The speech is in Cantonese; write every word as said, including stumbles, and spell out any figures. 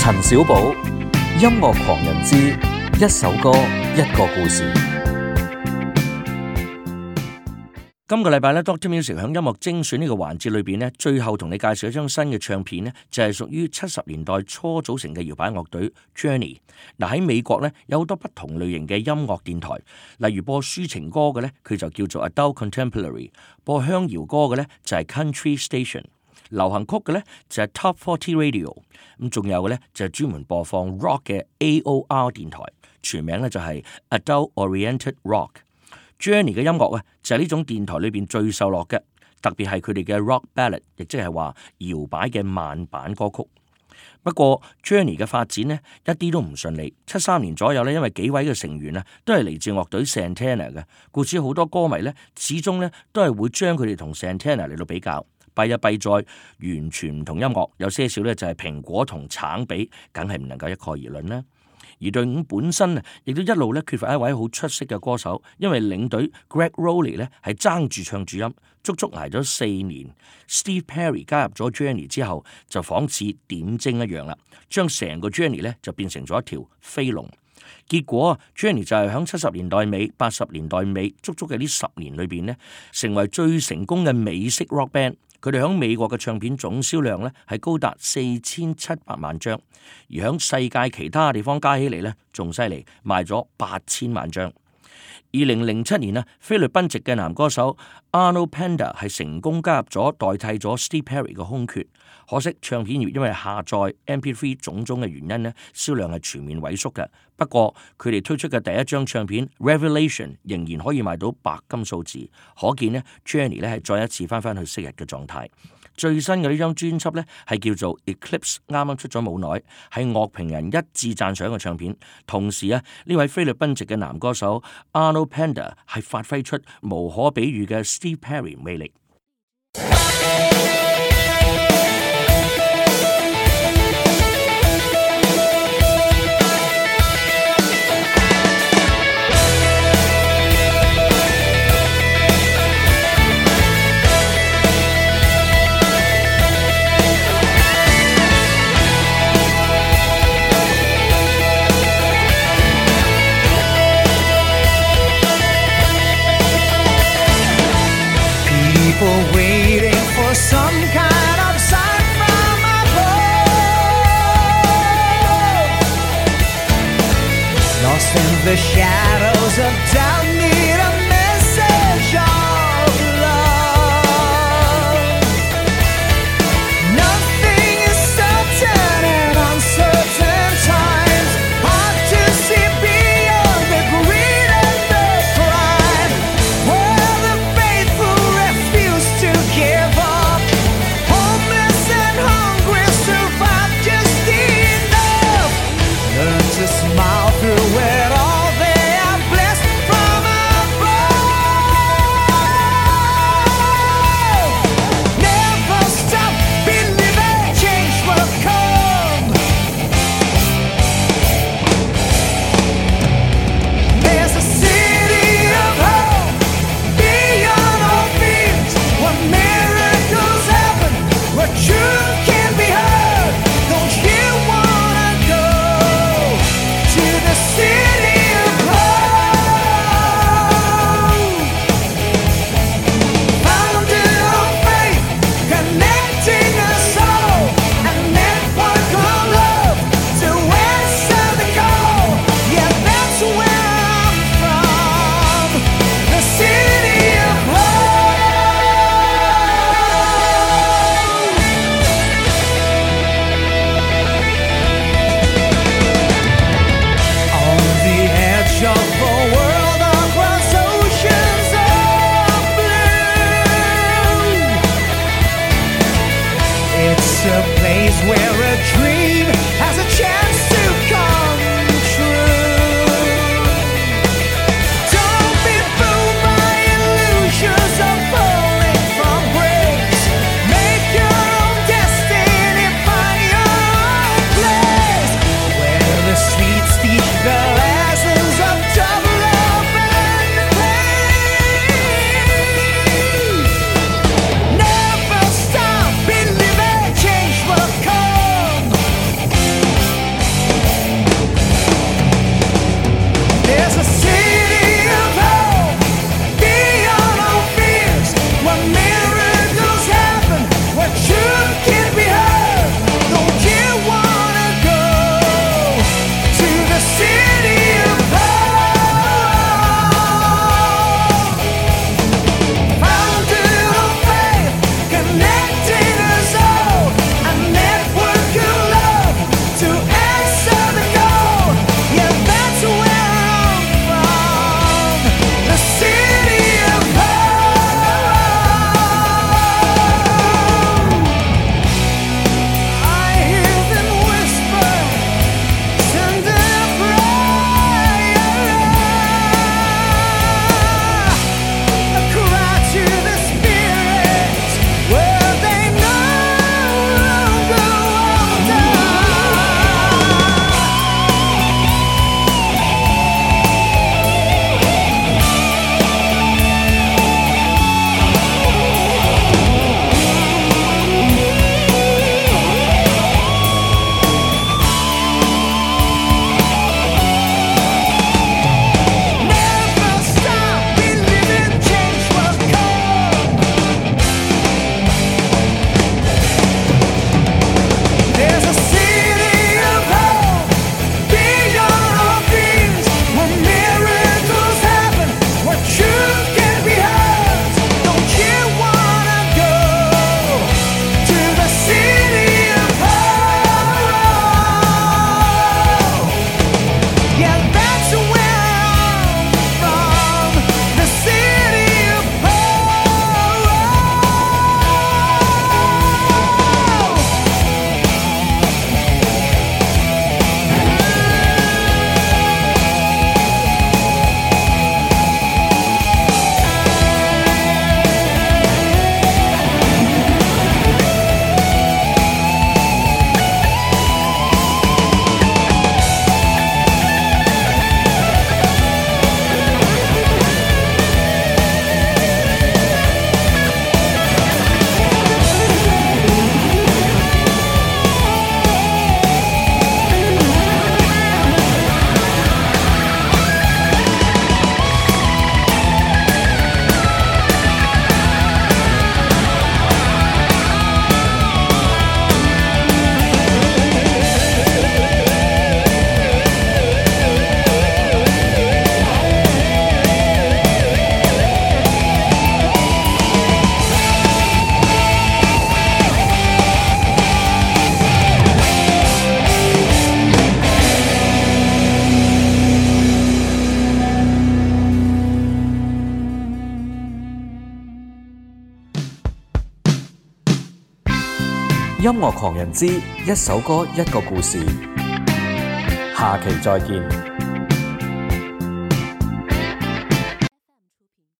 陳小寶，音樂狂人之一首歌一個故事。今個禮拜咧 Doctor Music 響音樂精選呢個環節裏邊咧，最後同你介紹一張新嘅唱片咧，就係屬於七十年代初組成嘅搖擺樂隊 Journey。嗱，喺美國咧有好多不同類型嘅音樂電台，例如播抒情歌嘅咧，佢就叫做 Adult Contemporary；播鄉謠歌嘅咧就係 Country Station；流行曲嘅咧就係 Top forty Radio。咁仲有嘅咧就係專門播放 Rock 嘅 A O R 電台，全名咧就係 Adult Oriented Rock。Journey 嘅音樂啊，就係呢種電台裏邊最受落嘅，特別係佢哋嘅 Rock Ballad， 亦即係話搖擺嘅慢板歌曲。不過 Journey 嘅發展呢，一啲都唔順利。七三年左右呢，因為幾位嘅成員啊，都係嚟自樂隊 Santana 嘅，故此好多歌迷呢，始終呢都係會將佢哋同 Santana 嚟到比較。弊啊弊在完全唔同音樂，有些少呢就係蘋果同橙比，梗係唔能夠一概而論啦。而隊伍本身啊，亦都一路咧缺乏一位好出色嘅歌手，因為領隊 Greg Rowley 咧係爭住唱主音，足足捱咗四年。Steve Perry 加入咗 Journey 之後，就仿似點睛一樣啦，將成個 Journey 咧就變成咗一條飛龍。結果 Journey 就係喺七十年代尾、八十年代尾，足足嘅呢十年裏邊咧，成為最成功嘅美式 rock band。佢哋喺美國嘅唱片總銷量咧係高達四千七百萬張，而喺世界其他地方加起嚟咧仲犀利，賣咗八千萬張。二零零七年啊，菲律賓籍嘅男歌手 Arnold Panda 係成功加入咗，代替咗 Steve Perry 嘅空缺。可惜唱片業因為下載 M P three 種種嘅原因咧，銷量係全面萎縮嘅。不過佢哋推出嘅第一張唱片 Revelation 仍然可以賣到白金數字，可見呢 Journey 咧係再一次翻返去昔日嘅狀態。最新嘅呢張專輯呢，係叫做 Eclipse， 啱啱出咗冇耐，係樂評人一致讚賞嘅唱片。同時啊，呢位菲律賓籍嘅男歌手 Arnold Panda 係發揮出無可比喻嘅 Steve Perry 魅力。 People waiting for some kind of sign from above. Lost in the shadows of doubt, need a message of love. Nothing is certain in uncertain times. Hard to see beyond the greed and the crime. Where the faithful to give up, homeless and hungry, survive just enough. Learn to smile through it all, they are blessed from above. Never stop believing change will come. There's a city of hope beyond all fears, where miracles happen, where truth can be heard. Don't you wanna go to the city of hope? Founded on faith, connecting us all, a network of love to answer the call. Yeah, that's where I'm from, the city of hope. On the edge of the world, across oceans of blue, it's a place where a dream has a chance to come true. Don't be fooled by illusions of falling from grace. Make your own destiny, find your own place, where the streets teach the lessons of tough love and pain. Never stop believing change will come. 音樂狂人之一首歌一個故事，下期再見。